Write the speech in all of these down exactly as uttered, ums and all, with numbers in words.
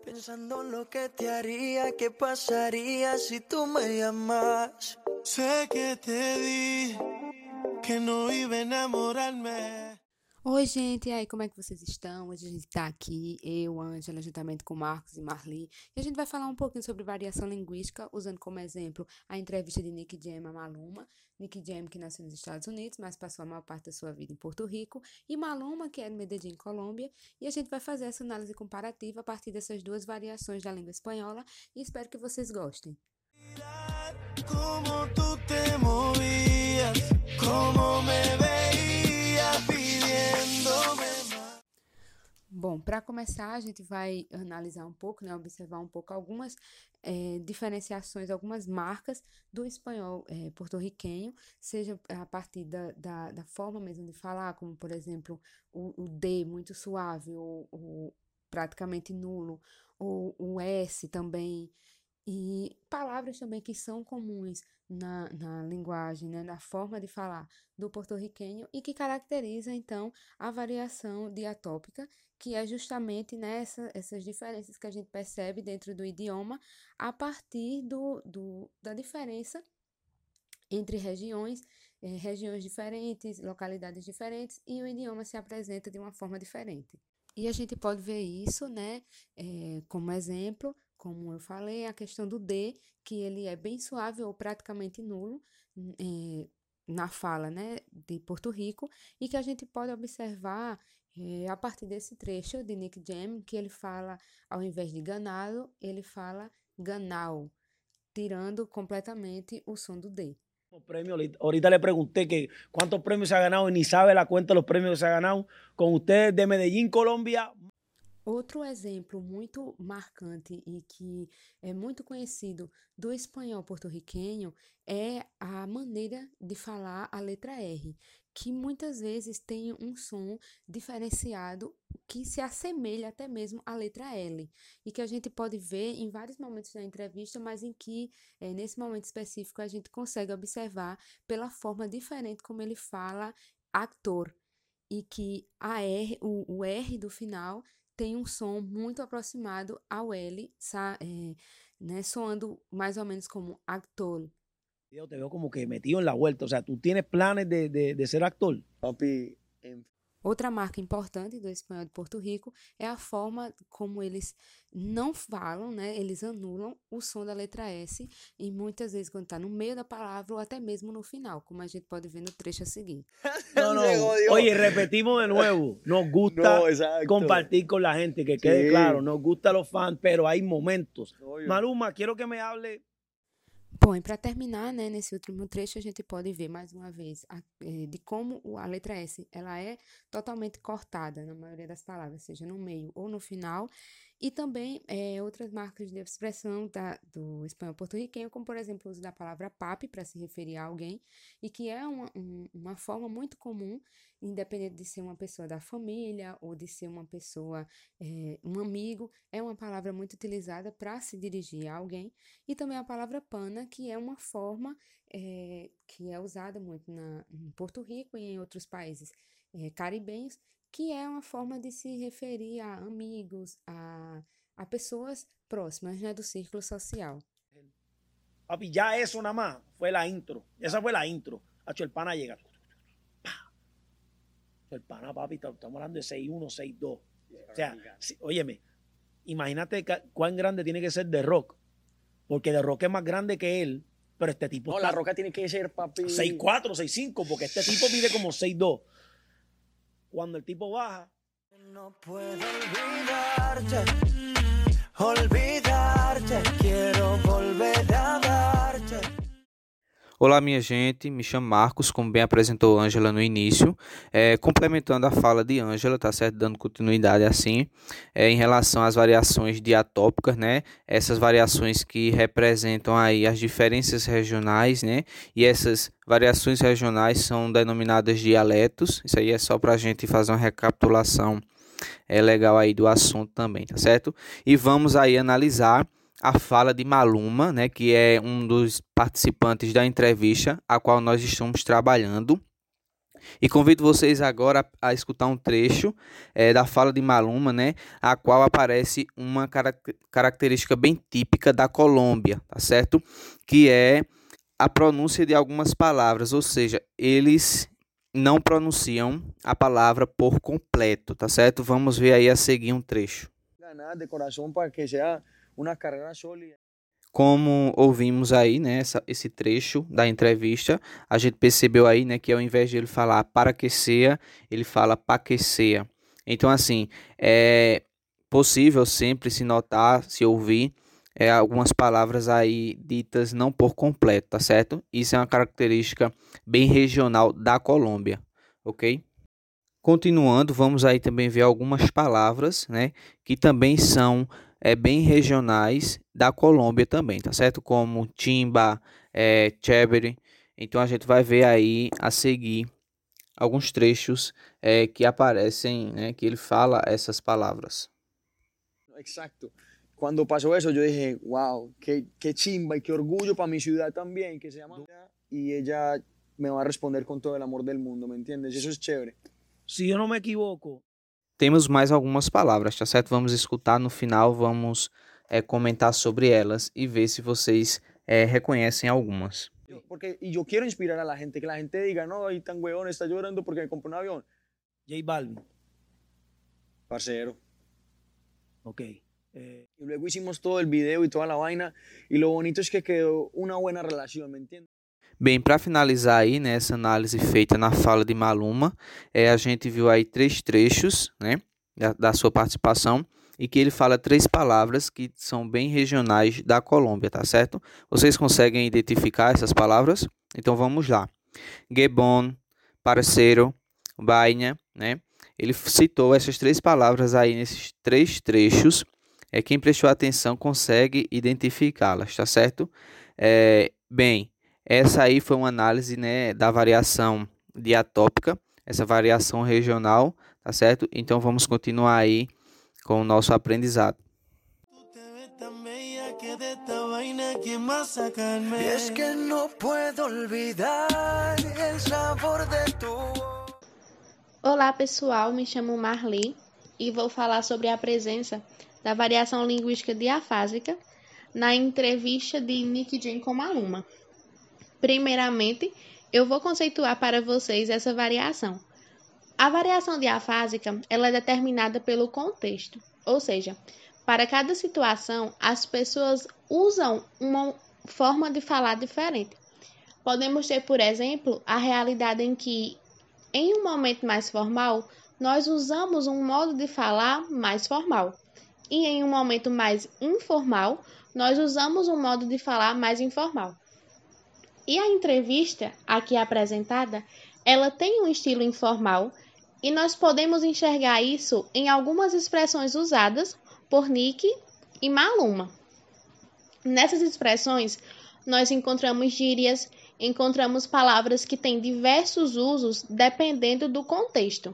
Pensando en lo que te haría, qué pasaría si tú me llamas. Sé que te di, que não iba a enamorar-me. Oi, gente, e aí, como é que vocês estão? Hoje a gente tá aqui, eu, Ângela, juntamente com Marcos e Marli, e a gente vai falar um pouquinho sobre variação linguística, usando como exemplo a entrevista de Nick Jam a Maluma. Nick Jam, que nasceu nos Estados Unidos, mas passou a maior parte da sua vida em Porto Rico, e Maluma, que é de Medellín, Colômbia, e a gente vai fazer essa análise comparativa a partir dessas duas variações da língua espanhola, e espero que vocês gostem. Como tú te movías, como me veías pidiéndome más. Bom, para começar, a gente vai analisar um pouco, né, observar um pouco algumas eh, diferenciações, algumas marcas do espanhol eh, porto-riquenho, seja a partir da, da, da forma mesmo de falar, como, por exemplo, o, o D muito suave, ou, ou praticamente nulo, ou o S também, e palavras também que são comuns na, na linguagem, né, na forma de falar do porto-riquenho e que caracteriza, então, a variação diatópica, que é justamente nessa, essas diferenças que a gente percebe dentro do idioma a partir do, do, da diferença entre regiões, eh, regiões diferentes, localidades diferentes, e o idioma se apresenta de uma forma diferente. E a gente pode ver isso, né, eh, como exemplo, como eu falei, a questão do D, que ele é bem suave ou praticamente nulo, eh, na fala, né, de Porto Rico, e que a gente pode observar eh, a partir desse trecho de Nick Jam, que ele fala, ao invés de ganado, ele fala ganau, tirando completamente o som do D. Premios. Ahorita le pregunté que cuántos premios se ha ganado y ni sabe la cuenta de los premios que se ha ganado. Con ustedes de Medellín, Colombia. Outro exemplo muito marcante e que é muito conhecido do espanhol porto-riquenho é a maneira de falar a letra R, que muitas vezes tem um som diferenciado que se assemelha até mesmo à letra L, e que a gente pode ver em vários momentos da entrevista, mas em que, é, nesse momento específico, a gente consegue observar pela forma diferente como ele fala actor, e que a R, o, o R do final tem um som muito aproximado ao L, sa, é, né, soando mais ou menos como actor. Yo te veo como que metido en la vuelta. O sea, tú tienes planes de, de, de ser actor. Papi, en Outra marca importante do espanhol de Porto Rico é a forma como eles não falam, né? Eles anulam o som da letra S, e muitas vezes quando está no meio da palavra ou até mesmo no final, como a gente pode ver no trecho a seguir. No, no. Se jodió. Oye, repetimos de nuevo. Nos gusta No, exacto. compartir con la gente, que quede Sí. claro. Nos gusta los fans, pero hay momentos. No, yo- Maluma, quiero que me hable. Bom, e para terminar, né, nesse último trecho, a gente pode ver mais uma vez a, eh, de como o- a letra S ela é totalmente cortada na maioria das palavras, seja no meio ou no final, e também eh, outras marcas de expressão da, do espanhol porto-riquenho, como por exemplo o uso da palavra papi para se referir a alguém, e que é uma, um- uma forma muito comum, independente de ser uma pessoa da família ou de ser uma pessoa, eh, um amigo, é uma palavra muito utilizada para se dirigir a alguém. E também a palavra pana, que é uma forma eh, que é usada muito na, em Porto Rico e em outros países eh, caribenhos, que é uma forma de se referir a amigos, a, a pessoas próximas, né, do círculo social. Papi, ya eso nada más fue la intro. Esa fue la intro. Hacho, el pana llega. Pa. El pana, papi, estamos hablando de seis uno, seis dos. O sea, si- óyeme, imagínate ca- cuán grande tiene que ser The Rock. Porque The Rock es más grande que él, pero este tipo No, está la roca tiene que ser, papi. seis cuatro, seis cinco, porque este tipo mide como seis dos. Cuando el tipo baja, No puedo olvidarte, olvidarte, quiero volver a darte. Olá, minha gente, me chamo Marcos, como bem apresentou Ângela no início, é, complementando a fala de Ângela, tá certo? Dando continuidade assim, é, em relação às variações diatópicas, né? Essas variações que representam aí as diferenças regionais, né? E essas variações regionais são denominadas dialetos. Isso aí é só para a gente fazer uma recapitulação é, legal aí do assunto também, tá certo? E vamos aí analisar a fala de Maluma, né, que é um dos participantes da entrevista a qual nós estamos trabalhando. E convido vocês agora a, a escutar um trecho é, da fala de Maluma, né, a qual aparece uma carac- característica bem típica da Colômbia, tá certo? Que é a pronúncia de algumas palavras, ou seja, eles não pronunciam a palavra por completo, tá certo? Vamos ver aí a seguir um trecho. Ganar de corazón para que sea una carrera sólida. Como ouvimos aí, né, essa, esse trecho da entrevista, a gente percebeu aí, né, que ao invés de ele falar para que seja, ele fala pa que seja. Então, assim, é possível sempre se notar, se ouvir é, algumas palavras aí ditas não por completo, tá certo? Isso é uma característica bem regional da Colômbia, ok? Continuando, vamos aí também ver algumas palavras, né, que também são é, bem regionais da Colômbia também, tá certo? Como timba, é, chévere. Então a gente vai ver aí a seguir alguns trechos é, que aparecem, né, que ele fala essas palavras. Exacto. Cuando pasó eso, yo dije, wow, qué, qué chimba y qué orgullo para mi ciudad también, que se llama. Y ella me va a responder con todo el amor del mundo, ¿me entiendes? Y eso es chévere. Si yo no me equivoco. Temos mais algumas palavras, tá certo? Vamos escutar no final, vamos é, comentar sobre elas e ver se vocês é, reconhecem algumas. Yo- Porque, y yo quiero inspirar a la gente, que la gente diga, no, ahí tan huevón está llorando porque me compró un avión. J Balvin. Parcero. Ok. Eh, Y luego hicimos todo el video y toda la vaina. Y lo bonito es que quedó una buena relación, ¿me entiendes? Bem, para finalizar aí, né, essa análise feita na fala de Maluma, é, a gente viu aí três trechos, né, da, da sua participação, e que ele fala três palavras que são bem regionais da Colômbia, tá certo? Vocês conseguem identificar essas palavras? Então vamos lá. Gebon, parceiro, vaina, né? Ele citou essas três palavras aí nesses três trechos. É, quem prestou atenção consegue identificá-las, tá certo? É, bem, essa aí foi uma análise, né, da variação diatópica, essa variação regional, tá certo? Então vamos continuar aí com o nosso aprendizado. Tú te ves tan bella que de esta vaina ¿quién más sacarme? Y es que no puedo olvidar el sabor de tu voz. Olá pessoal, me chamo Marli e vou falar sobre a presença da variação linguística diafásica na entrevista de Nick Jam com Maluma. Primeiramente, eu vou conceituar para vocês essa variação. A variação diafásica ela é determinada pelo contexto, ou seja, para cada situação as pessoas usam uma forma de falar diferente. Podemos ter, por exemplo, a realidade em que, em um momento mais formal, nós usamos um modo de falar mais formal. E em um momento mais informal, nós usamos um modo de falar mais informal. E a entrevista aqui apresentada, ela tem um estilo informal e nós podemos enxergar isso em algumas expressões usadas por Nick e Maluma. Nessas expressões, nós encontramos gírias, encontramos palavras que têm diversos usos dependendo do contexto.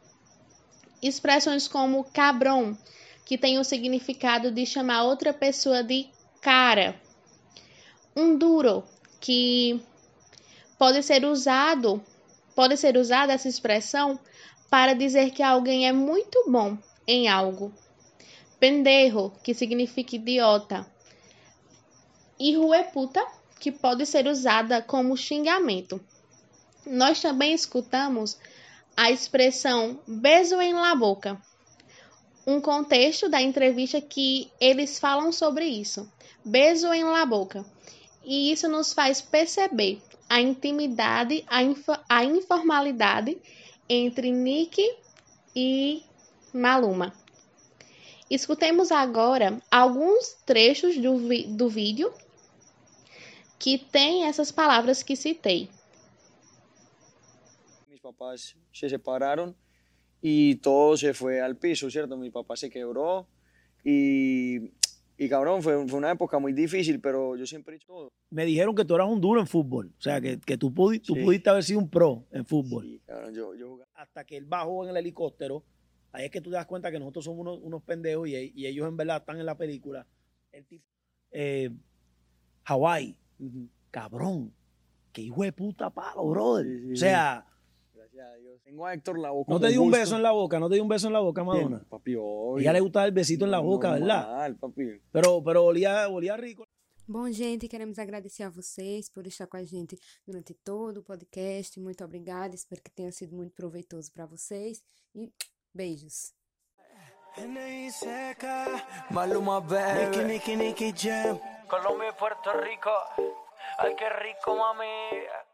Expressões como cabrão, que tem o significado de chamar outra pessoa de cara. Um duro, que pode ser usado, pode ser usada essa expressão para dizer que alguém é muito bom em algo. Pendejo, que significa idiota. E hueputa, que pode ser usada como xingamento. Nós também escutamos a expressão beijo em la boca, um contexto da entrevista que eles falam sobre isso, beijo em la boca, e isso nos faz perceber a intimidade, a, info, a informalidade entre Nick e Maluma. Escutemos agora alguns trechos do, vi, do vídeo que tem essas palavras que citei. Mis papás se separaron y todo se fue al piso, ¿cierto? Mi papá se quebró y, y cabrón, fue, fue una época muy difícil, pero yo siempre he hecho todo. Me dijeron que tú eras un duro en fútbol. O sea, que, que tú, pudi- tú Sí. pudiste haber sido un pro en fútbol. Sí, cabrón, yo, yo jugaba. Hasta que él bajó en el helicóptero, ahí es que tú te das cuenta que nosotros somos unos, unos pendejos y, y ellos en verdad están en la película. El tipo, eh, Hawái, Ujú. cabrón, qué hijo de puta palo, brother. Sí, sí, o sea, Gracias a Dios. Tengo a Héctor Lavoe. No te di un beso en la boca, no te di un beso en la boca, Madonna. Bien, papi, obvio. Ella le gustaba el besito en la boca, ¿verdad? Normal, papi. Pero, pero olía, olía rico. Bom, gente, queremos agradecer a vocês por estar com a gente durante todo o podcast. Muito obrigada, espero que tenha sido muito proveitoso para vocês. E beijos. Maluma, baby. Nicky, Nicky, Nicky Jam. Colombia y Puerto Rico. Ay, qué rico, mami.